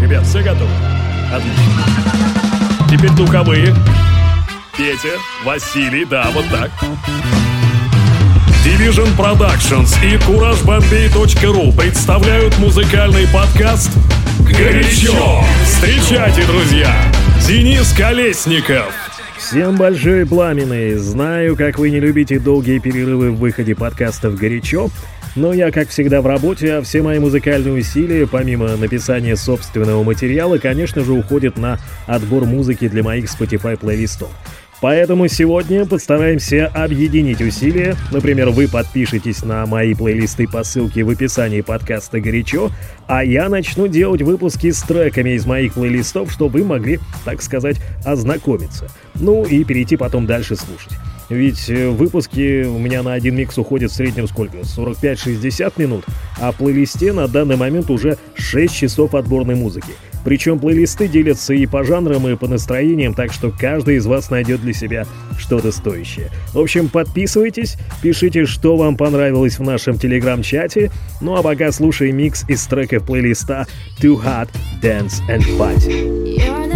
Ребят, все готовы? Отлично. Теперь духовые. Петя, Василий, да, вот так. Division Productions и CourageBombay.ru представляют музыкальный подкаст «Горячо». Встречайте, друзья, Денис Колесников. Всем большой пламенный. Знаю, как вы не любите долгие перерывы в выходе подкастов «Горячо», но я, как всегда, в работе, а все мои музыкальные усилия, помимо написания собственного материала, конечно же, уходят на отбор музыки для моих Spotify плейлистов. Поэтому сегодня постараемся объединить усилия. Например, вы подпишитесь на мои плейлисты по ссылке в описании подкаста «Горячо», а я начну делать выпуски с треками из моих плейлистов, чтобы вы могли, так сказать, ознакомиться. Ну и перейти потом дальше слушать. Ведь выпуски у меня на один микс уходят в среднем сколько? 45-60 минут, а в плейлисте на данный момент уже 6 часов отборной музыки. Причем плейлисты делятся и по жанрам, и по настроениям, так что каждый из вас найдет для себя что-то стоящее. В общем, подписывайтесь, пишите, что вам понравилось в нашем телеграм-чате. Ну а пока слушаем микс из треков плейлиста Too Hot, Dance and Party.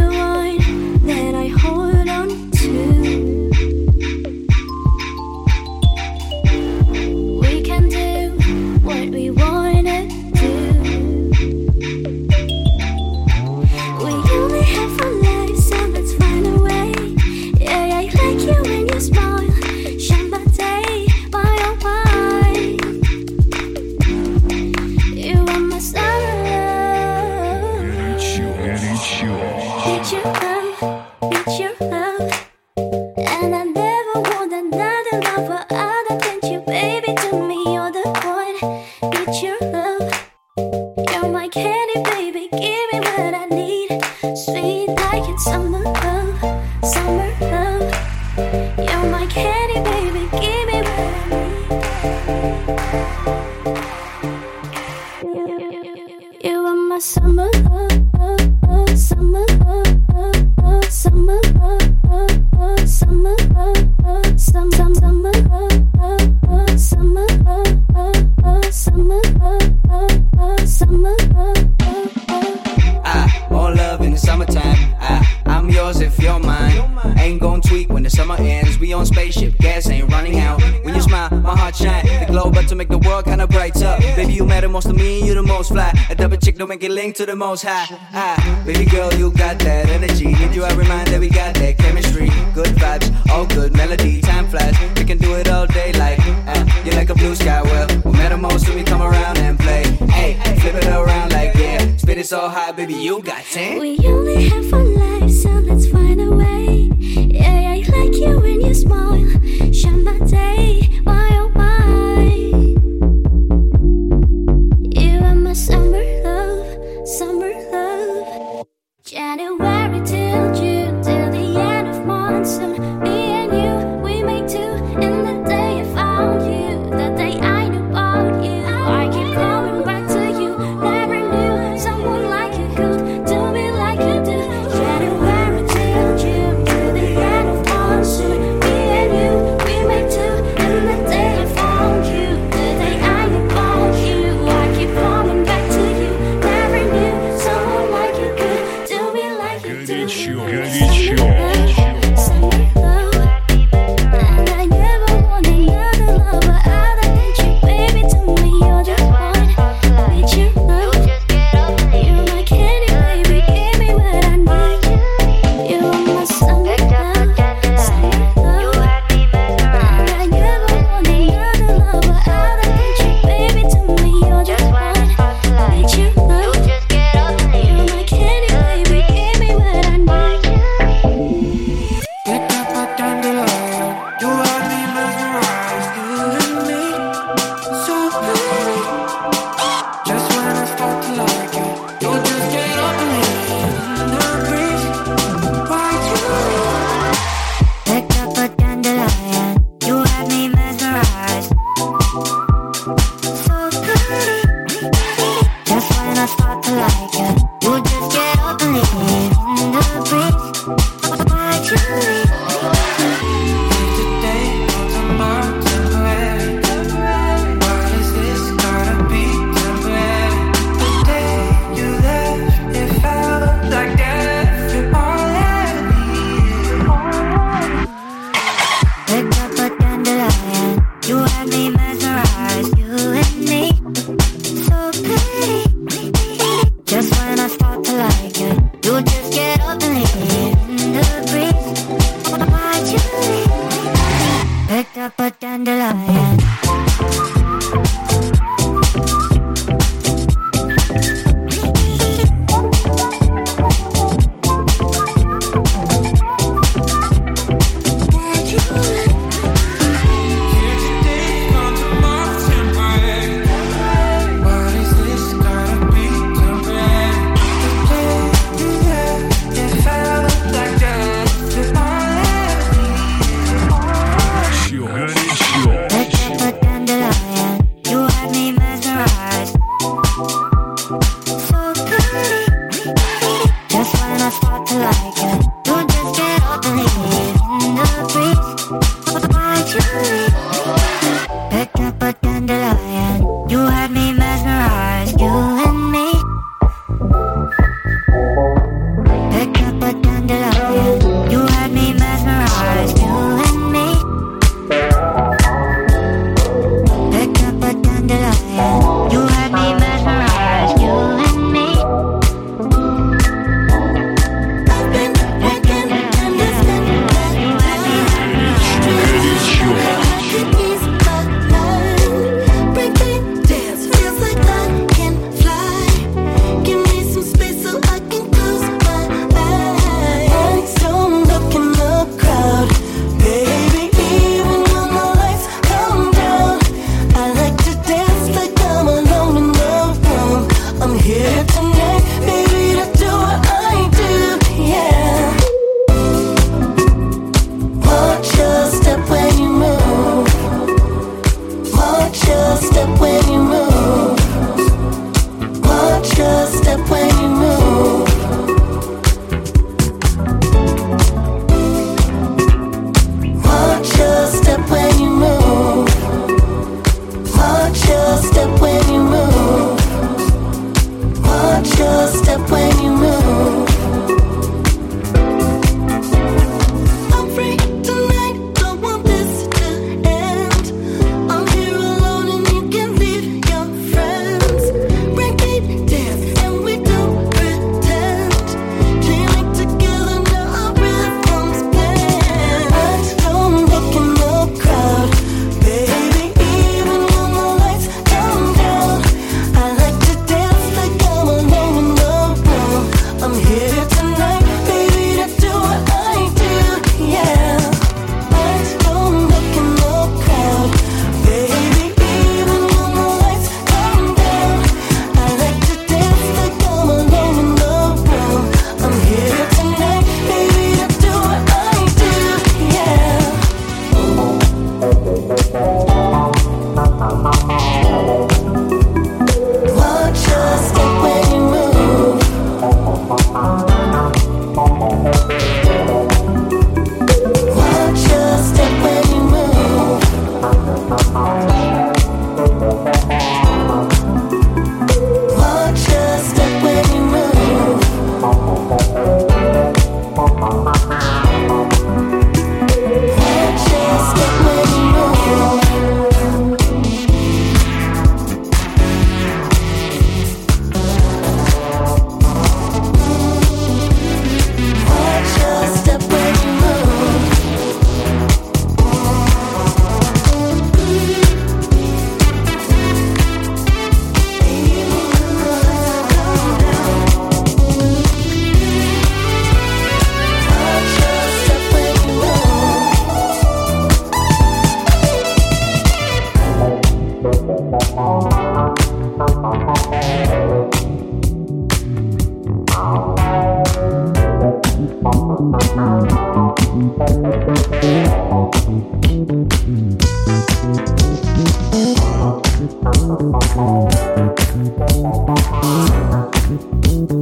Make it link to the most high. Baby girl, you got that energy. Need you every mind that we got that chemistry. Good vibes, all good melody. Time flies, we can do it all day like you're like a blue sky. Well, we met the most so we come around and play. Hey, flip it around like yeah. Spit it so high, baby, you got 10. We only have one life, so let's find a way. Yeah, I like you when you smile. Shine my day, why oh why? You are my summer love, January till June, till the end of monsoon. Me and you, we made two. In the day I found you, the day I knew about you. I keep coming back to you. Never knew someone like you could do me like you do. January till June, till the end of monsoon. Me and you, we made two. In the day I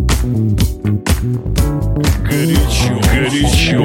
Горячо, горячо.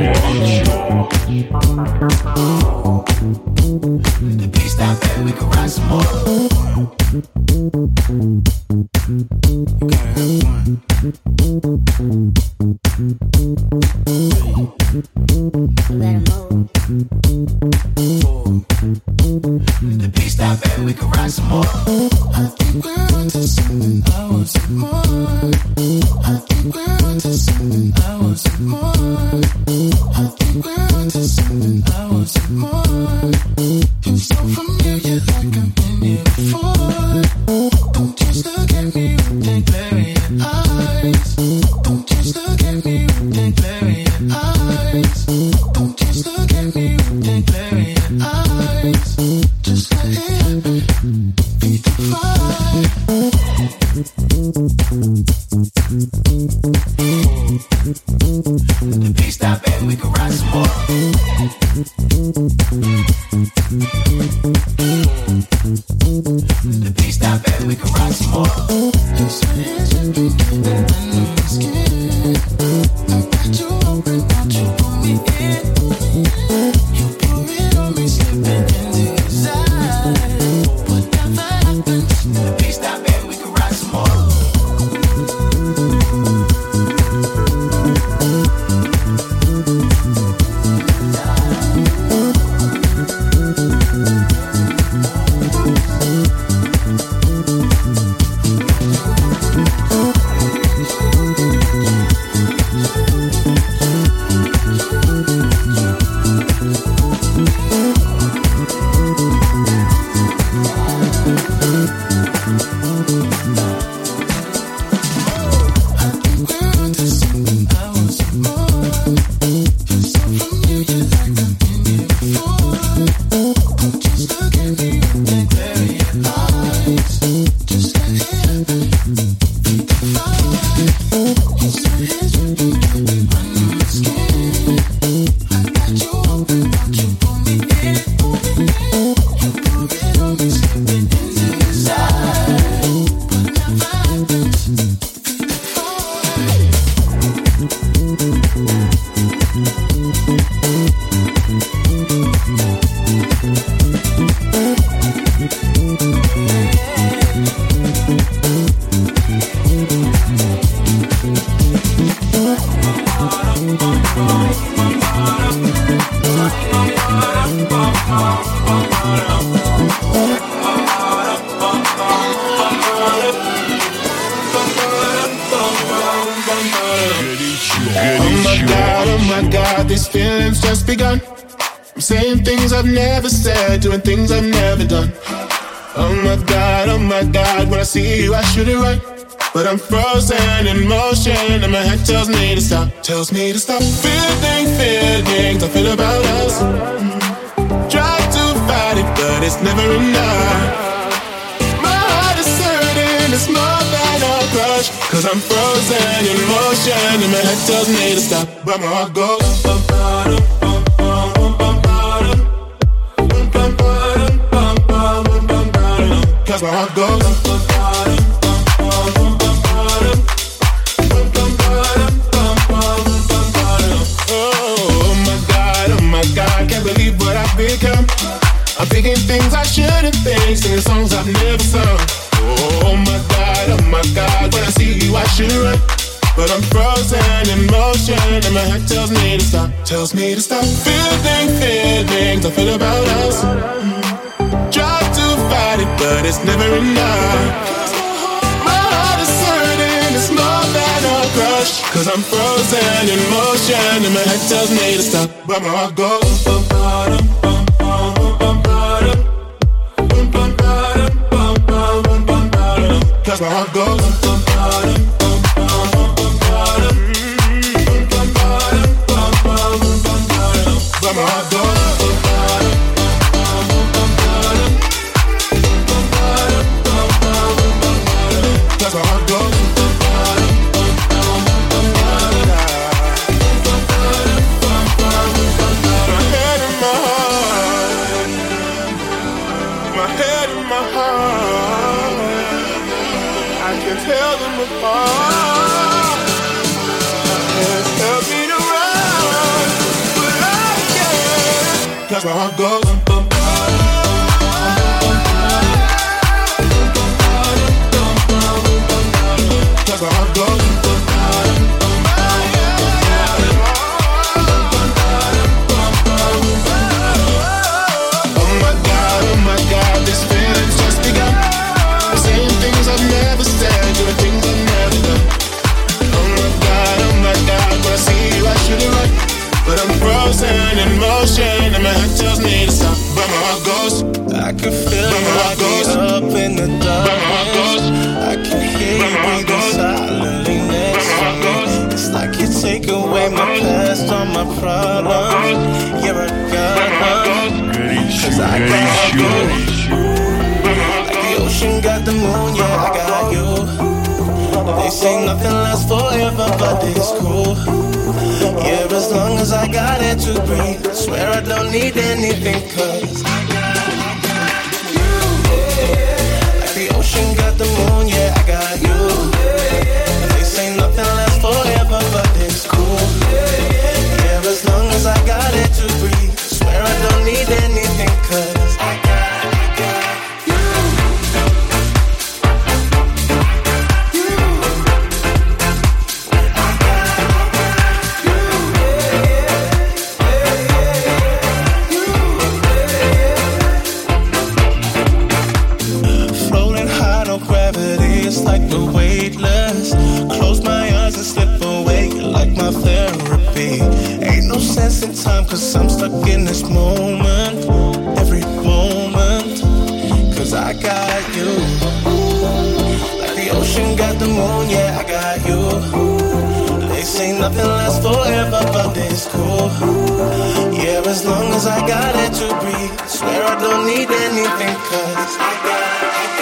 The beat stop and we can ride some more. I think we're onto something. I want some more. I think we're onto something. I want some more. I think we're onto something. I want some more. You're so familiar, like I've been here before. Don't just look at me with that glaring eyes. Don't just look at me with that glaring eyes. Don't just look at me with that glaring eyes. Just let it happen. Be the fire. The beat stop and we can ride some more. The beat stop and we can ride some more. Just let it begin under my skin. I got you open, want you pull me in. You pull it on me, slipping into your side. Whatever happens, the beat stop and we can ride some more. Doing things I've never done. Oh my God, when I see you I shoot it right. But I'm frozen in motion and my head tells me to stop. Tells me to stop feeling feelings I feel about us. Try to fight it but it's never enough. My heart is hurting, it's more than a crush. Cause I'm frozen in motion and my head tells me to stop. But my heart goes cause my heart goes oh my God, can't believe what I've become. I'm thinking things I shouldn't think, singing songs I've never sung. Oh my God, when I see you I should run. But I'm frozen in motion and my head tells me to stop. Tells me to stop feeling feelings I feel about us. Try to fight it, but it's never enough. My heart is hurting, it's more than a crush. Cause I'm frozen in motion and my head tells me to stop. But my heart goes cause my heart goes but my heart goes cause my heart goes. My head and my heart, my head and my heart, I can tell my problems. Yeah, I got them. 'Cause I got you. Like the ocean got the moon, yeah, I got you. They say nothing lasts forever, but it's cool. Yeah, as long as I got it to breathe, I swear I don't need anything, 'cause I got you. Like the ocean got the moon, yeah, I got you. They say nothing lasts forever, but it's cool. Yeah, as long as I got it to breathe, I swear I don't need anything, 'cause I got you. Like the weightless, close my eyes and slip away like my therapy. Ain't no sense in time, 'cause I'm stuck in this moment, every moment, 'cause I got you. Like the ocean got the moon, yeah, I got you. They say nothing lasts forever, but it's cool. Yeah, as long as I got it to breathe, I swear I don't need anything, 'cause I got you.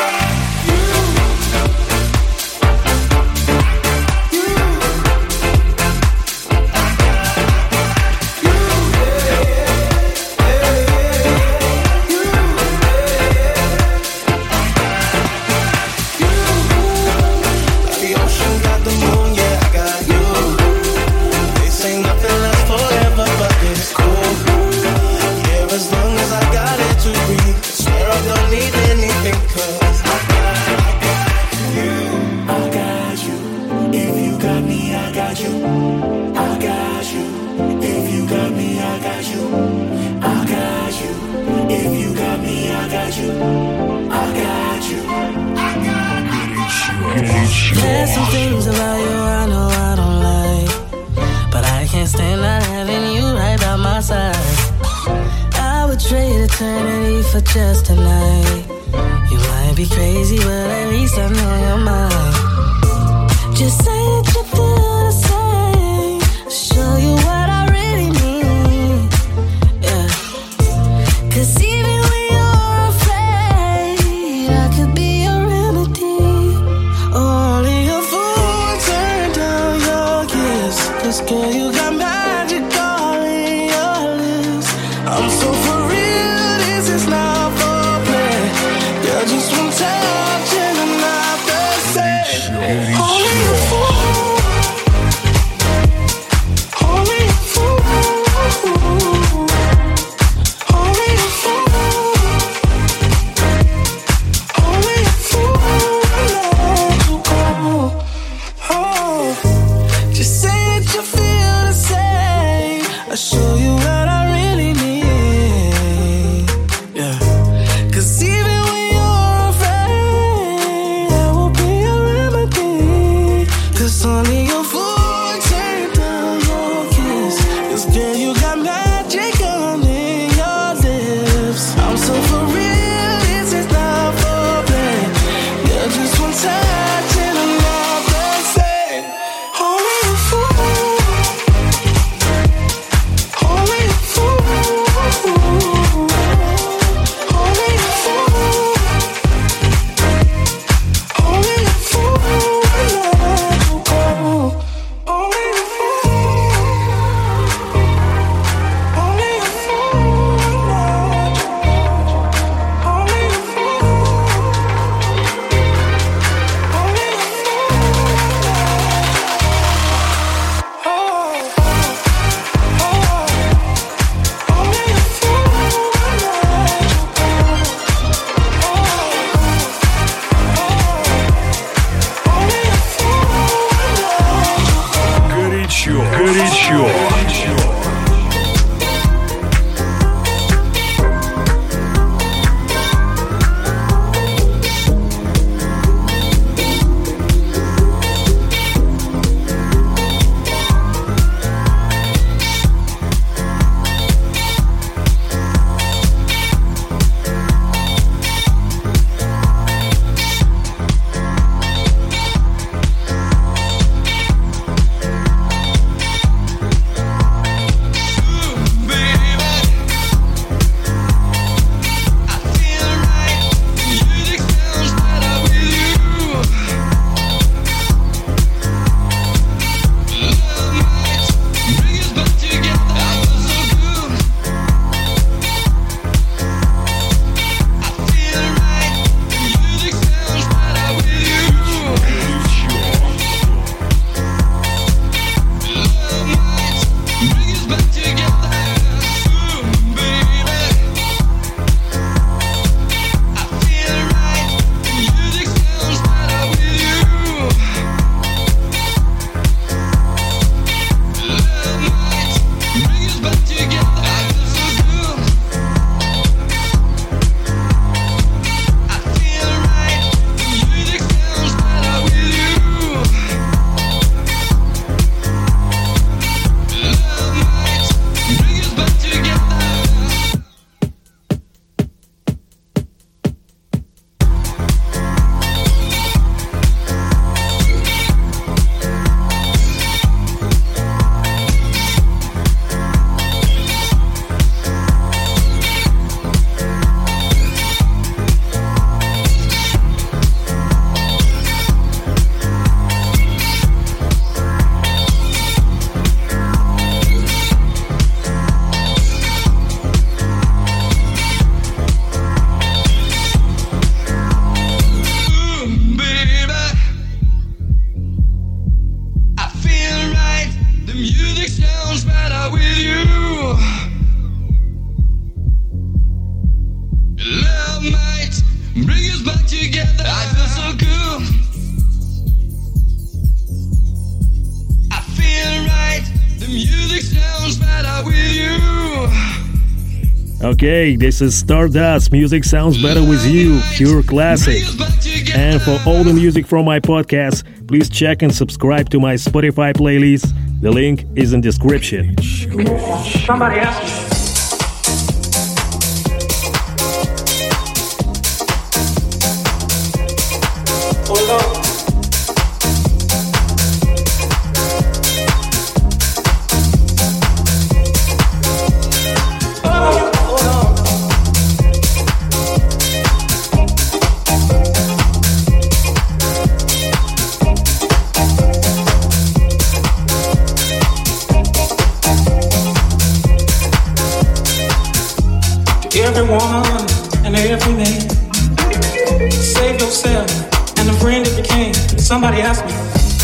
There's some things about you I know I don't like, but I can't stand not having you right by my side. I would trade eternity for just tonight. You might be crazy, but at least I know you're mine. Just say that you feel the same. I'll show you what I really mean. Yeah. 'Cause even when you're afraid, I could be a remedy. Only a fool turned down your kiss. 'Cause girl, you got magic all in your lips. I'm so for real, this is not for play. Girl, just one touch and I'm not the same. Only a fool. Only a fool. Only a fool. Only a fool. Oh, just say that you feel the same. I'll show you what I really need. Yeah. 'Cause even when you're afraid, I will be a remedy. 'Cause only your fool turned down your kiss. 'Cause girl, you got magic on in your lips. I'm so for real, this is not for play. You're just one touch and I'm not the same. Only a fool. Only a fool. Only a fool. Only a fool. Only a fool. Only a fool. Only a Горячо, горячо. Okay, this is Stardust. Music sounds better with you. Pure classic. And for all the music from my podcast, please check and subscribe to my Spotify playlist. The link is in description. Somebody asked me. Hold on. Everyone and every name. Save yourself and the friend it became. Somebody asked me.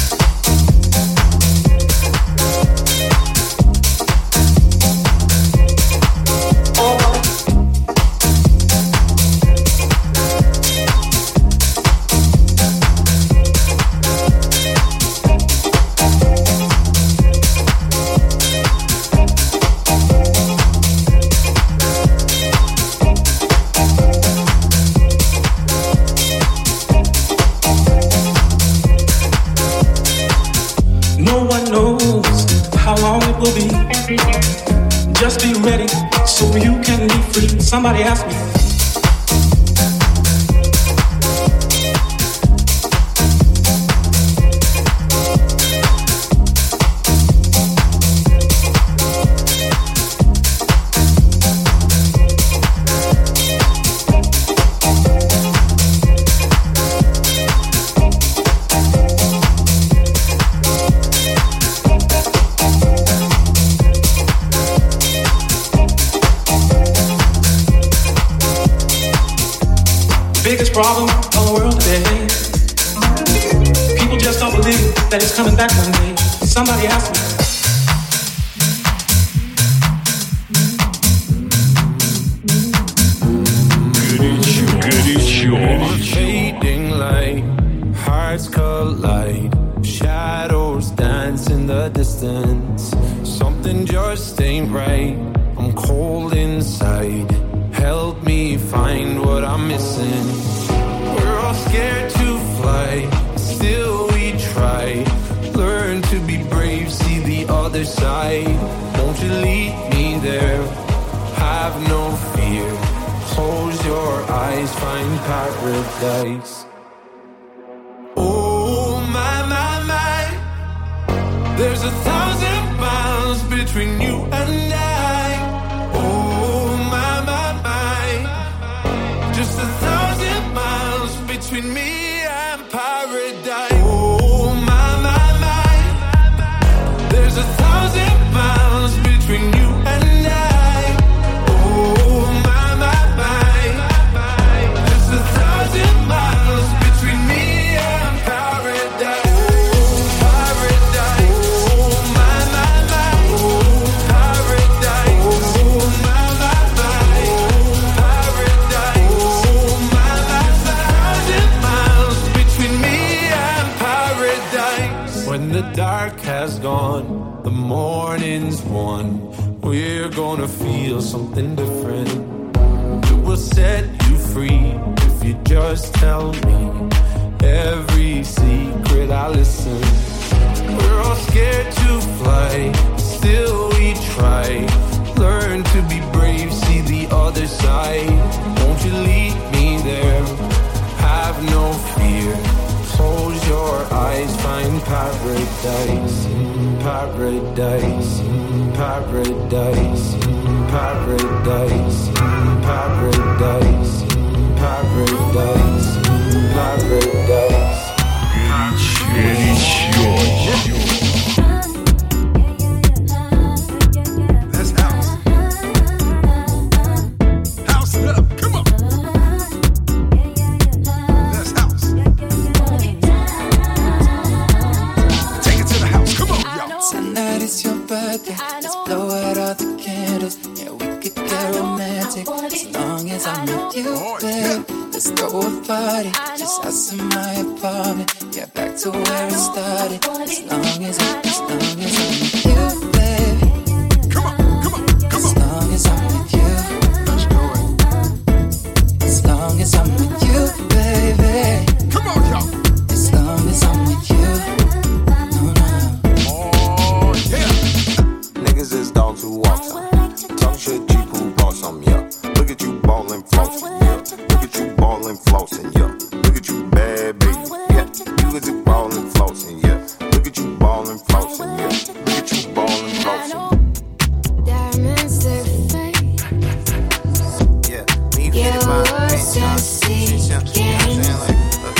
Just be ready so you can be free. Somebody asked me. Biggest problem of the world today. People just don't believe that it's coming back one day. Somebody asked me. Fading light, hearts collide, shadows dance in the distance. Something just ain't right. I'm cold inside. Help me find what I'm missing. We're all scared to fly, still we try. Learn to be brave, see the other side. Won't you lead me there? Have no fear. Close your eyes, find paradise. Oh my, my, my. There's 1,000 miles between you and I. Oh my, my, my. Just 1,000 miles between me and paradise. Oh my, my, my. There's 1,000 miles between you and I. Oh my, my, my. Just 1,000 miles between me and paradise. Oh, paradise. Oh my, my, my. Oh, paradise. Oh my, my, my. Oh, paradise. Oh my, my, 1,000 miles between me and paradise. When the dark has gone, the morning's won. We're gonna feel something different. It will set you free if you just tell me every secret I listen. We're all scared to fly, still we try. Learn to be brave, see the other side. Won't you lead me there? Have no fear. Close your eyes, find paradise. Paradise, paradise, paradise, paradise, paradise, paradise. That's house. House it up, come on. That's house. Take it to the house, come on, y'all. Tonight is your birthday. Let's blow out all the candles. Yeah, we could get romantic as long as I'm with you, babe. Let's throw a party just us in my apartment. Yeah, back to where it started. As long as I'm with you, babe. Get you ballin' closer. Diamonds, they fake. Yeah, when you get it by the paint, shit, you know what I'm saying?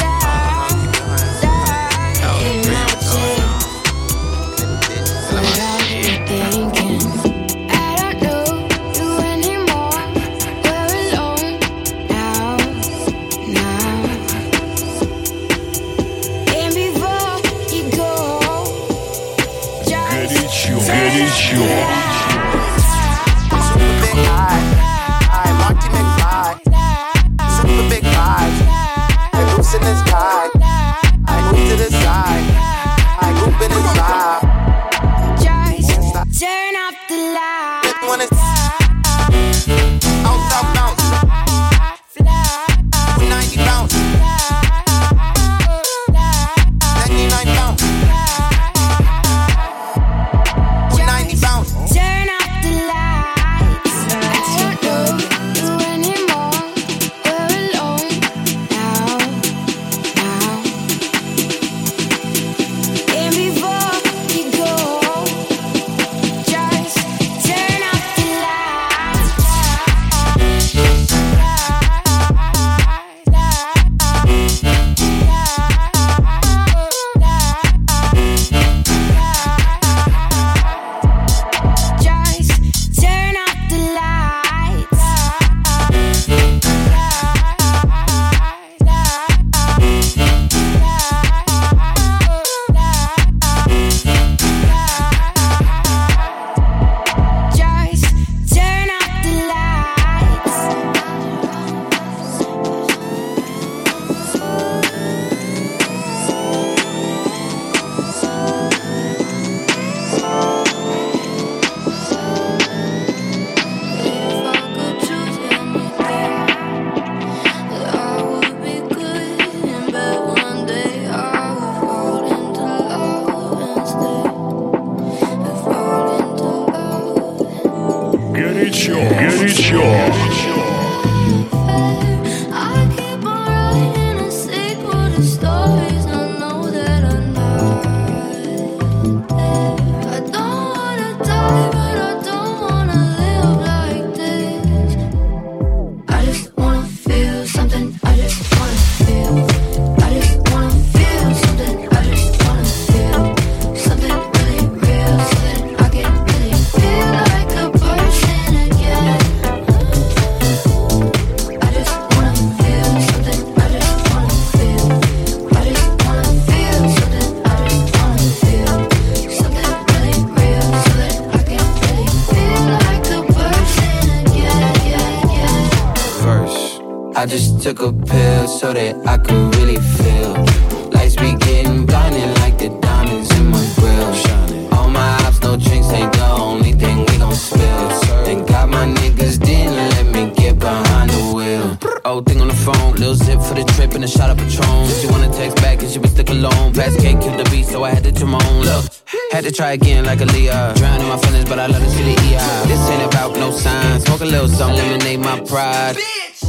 I just took a pill so that I could really feel. Lights be getting blinding like the diamonds in my grill. All my ops, no drinks ain't the only thing we gon' spill. Thank God my niggas didn't let me get behind the wheel. Old thing on the phone, little zip for the trip and a shot of Patron. She wanna text back and she was stuck alone. Fast cake killed the beat, so I had to trim my own. Look, had to try again like Aaliyah. Drowning my feelings, but I love to see the EI. This ain't about no signs. Smoke a little something, eliminate my pride.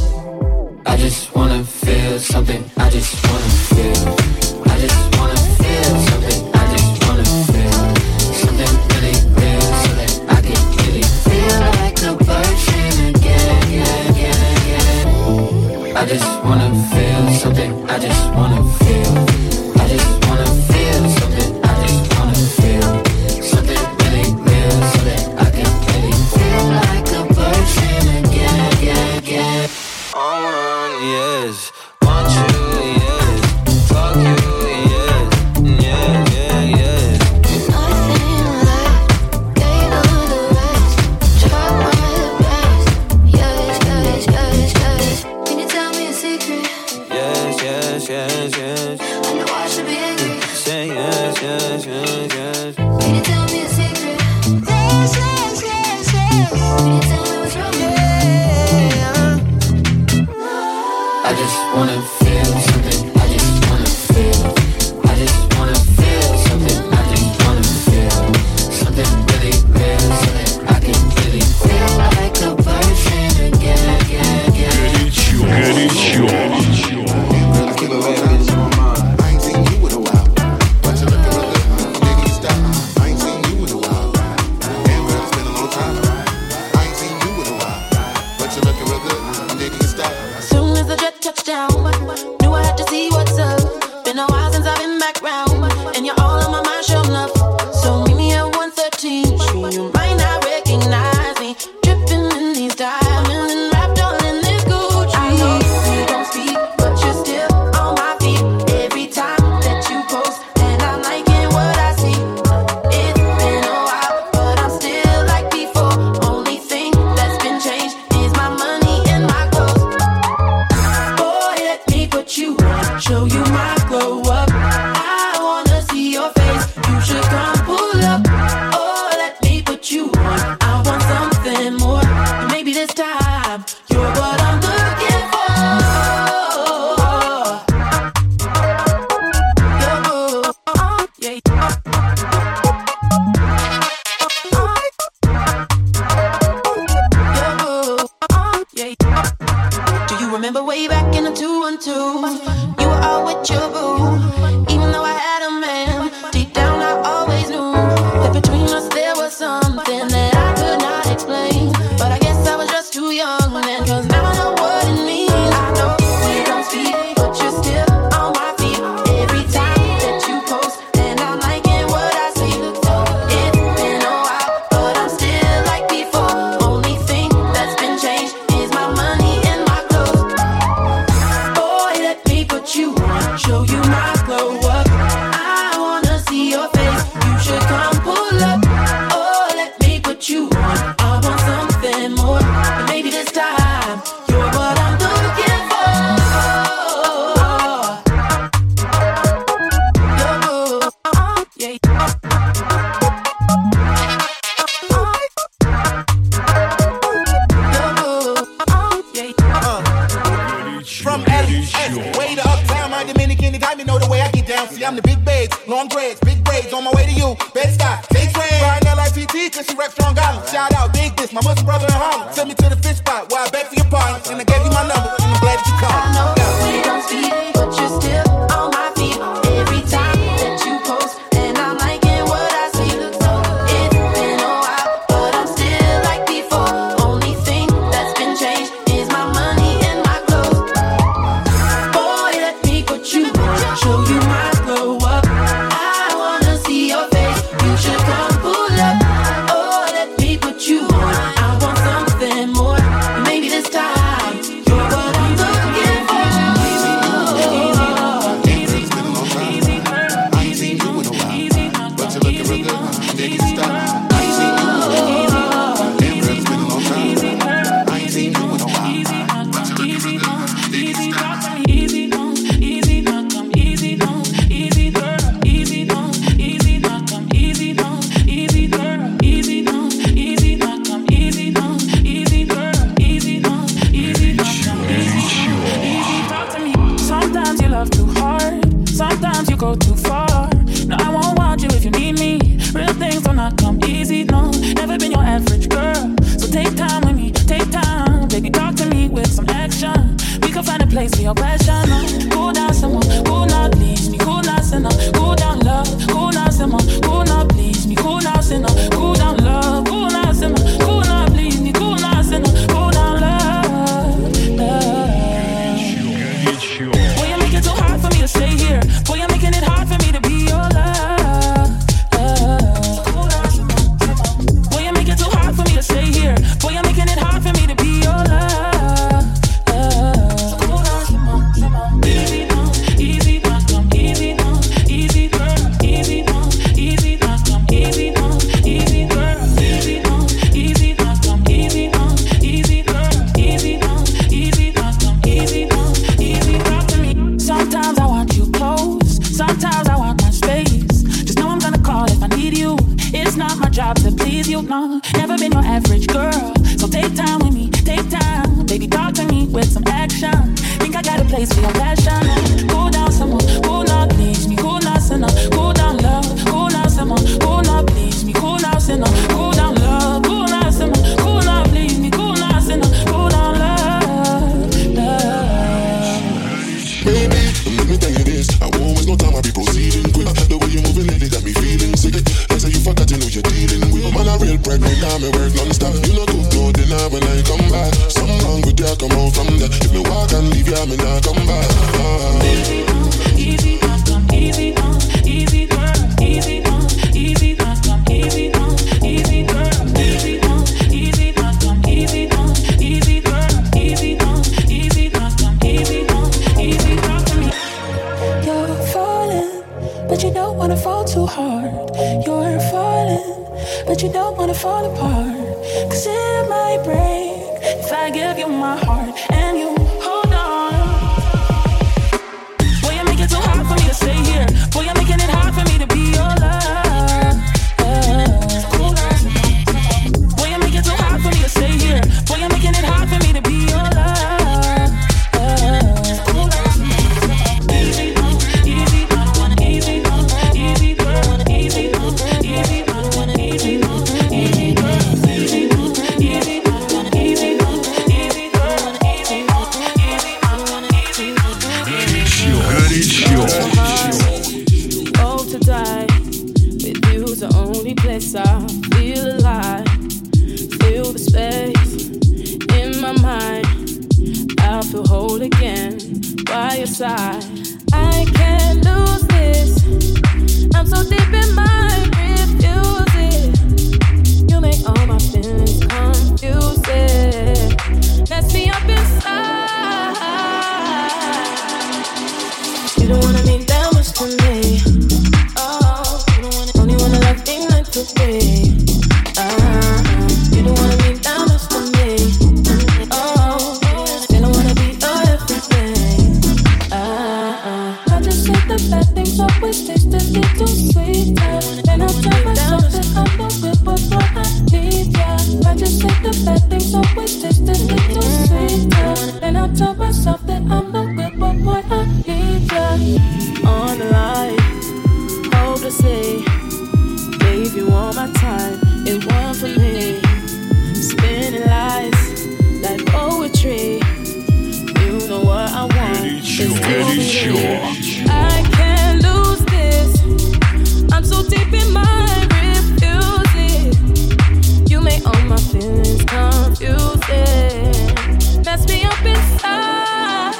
I just wanna feel something. I just wanna feel. I just wanna feel something. I just wanna feel something really real, so that I can really feel like a person again. I just wanna feel something. I just wanna feel. I just wanna feel something. I just wanna feel something really real, so that I can really feel like a person again. Yes, want you, yes, fuck you, yes, yeah, yes. Nothing left, gave all the rest. Try my best, yes. Can you tell me a secret? Yes. the big babes, long dreads, big braids, on my way to you. Bed-Stuy, stage rain. Riding LIPT, cause she rep Strong Island. Shout out, Big Dish, my Muslim brother in Harlem. Send me to the fish spot where I bet for your partner. And I gave you my number, and I'm glad that you called. I know we don't speak, but you're still on my feet. Every time that you post, and I'm liking what I see. It's been a while, but I'm still like before. Only thing that's been changed is my money and my clothes. Boy, let me put you on, show you my glow up. I wanna see your face, you should come pull up. Oh, let me put you on, I want something more. Maybe this time you're what I'm looking for. Sometimes you love too hard, sometimes you go too far. No, I won't want you if you need me. Real things do not come easy, no. Never been your average girl, so take time with me, take time. Baby, talk to me with some action. We can find a place for your passion. Cool down, someone, cool now, please me. Cool now, sinner, cool down, love. Cool now, someone, cool now, please me. Cool now, sinner, cool down, love. Cool now, sinner, cool now, please me. Cool now, sinner, cool down, love, love. Boy, you're making it too hard for me to stay here. Boy, you're making it hard for me to be your love. Boy, you're making it too hard for me to stay here. Boy, you're making it hard for me to be your love. Easy now, easy now, come easy now, easy girl, easy now, easy now, come easy now, easy girl, easy now, easy now, come easy now, easy girl, easy now, easy now, come easy now, easy talk to me. Sometimes I want you close, sometimes I want my space. Just know I'm gonna call if I need you. It's not my job to please you, no. Never been your average girl, so take time with me, take time. Baby, talk to me with some action. Think I got a place for your passion. Cool down, someone, cool now, please me. Cool now, sinner, cool down, love. Cool now, someone, cool now, please me. Cool now, sinner, cool down, love. Cool now, someone, cool now, please me. Cool now, sinner, cool down, love, love. Baby, let me tell you this. I won't waste no time, I'll be proceeding quick. The way you're moving lately got me feeling sick. Like say you forgot, you know you're dealing with. Man, a real pregnant, now me work non-stop. You know good, no dinner when I come back. Something wrong with you, come out from there. If me walk and leave you, me not come back. Easy now, easy now, come easy now, easy girl, easy now, easy now, come easy now, easy girl, easy now, easy now, come easy now, easy girl, easy now, easy now, come easy now, easy talk to me. You're falling, but you don't wanna fall too hard. You're falling, but you don't wanna fall apart. 'Cause it might break if I give you my heart and you hold on. Boy, you're making it too hard for me to stay here. Boy, you're making it hard for me to be your love. Boy, you're making it too hard for me to stay here. Boy, you're making it hard for me to be your love. Easy now, easy now, easy now, easy girl, easy now, easy now, easy now, easy girl, easy now, easy now, easy now, easy girl, easy now, easy now, easy now. Oh, to die with you's the only place I feel alive. Feel the space in my mind. I feel whole again by your side. I can't lose this. I'm so deep in my refuse it. You make all my feelings confusing. Mess me up inside. You don't wanna mean that much to me. Oh, you don't wanna, only wanna love me like to be. You don't wanna mean that much to me. Oh, you don't wanna be your everything. I just said the bad things always taste a little sweeter. Then I tell myself that I'm not good, but what I need, yeah. I just said the bad things always taste a little sweeter. Then I tell myself that I'm not good, but what I need, yeah. On the line, gave you all my time. It wasn't for me. Spinning lies like poetry. You know what I want. I can't lose this. I'm so deep in my refusing. You make all my feelings confusing. Mess me up inside.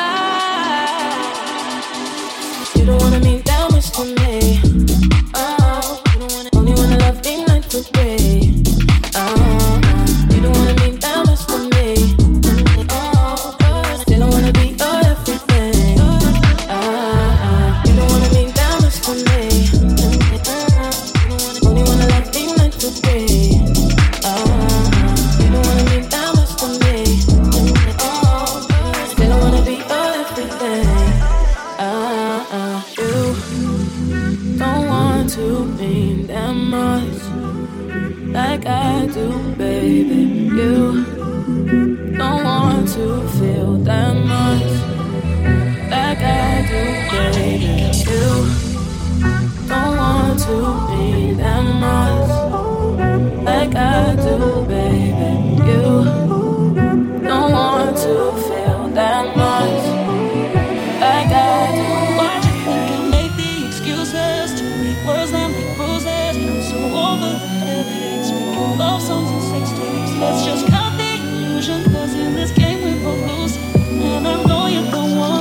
You don't wanna mean that much to me. Oh, you don't wanna, only wanna love me like the way. You don't wanna mean that much to me. Oh, still don't wanna be your everything. You don't wanna mean that much to me. Only wanna love me like the way. You don't wanna mean that much to me. Still don't wanna be your everything. You don't want to mean that much like I do, baby. You don't want to feel that much like I do, baby. You don't want to mean that much like I do, baby. You don't want to feel that much like I do. Why do you think I make the excuses to make words that make bruises? I'm so over the headaches, making love songs and sex tapes. Let's just cut the illusion, 'cause in this game we both lose, and I know you're the one.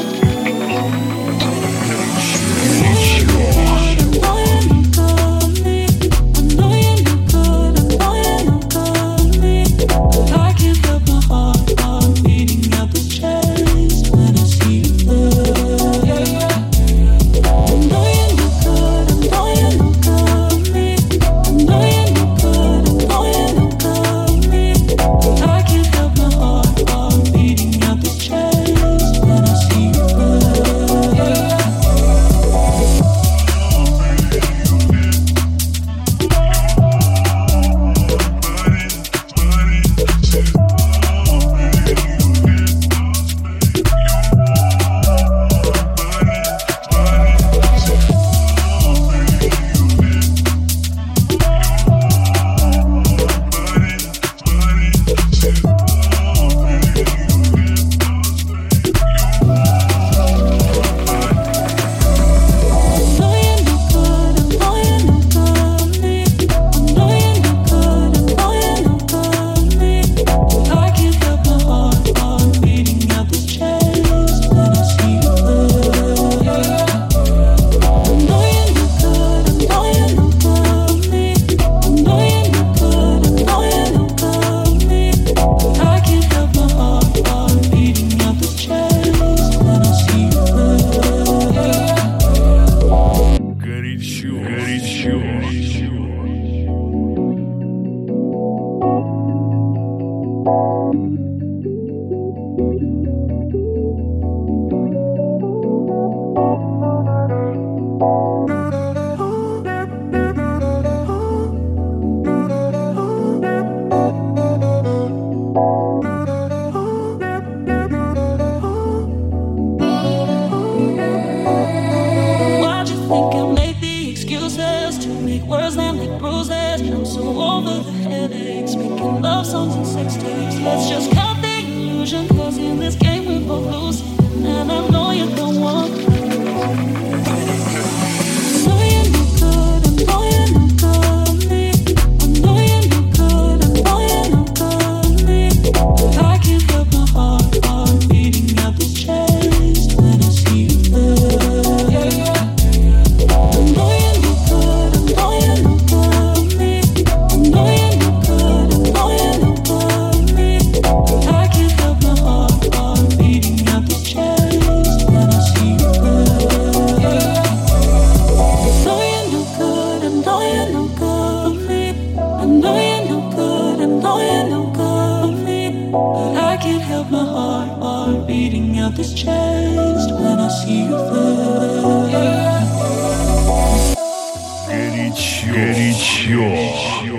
Let's just cut the illusion, 'cause in this game we both lose, and I know you're the one. This changed when I see you there. Горячо.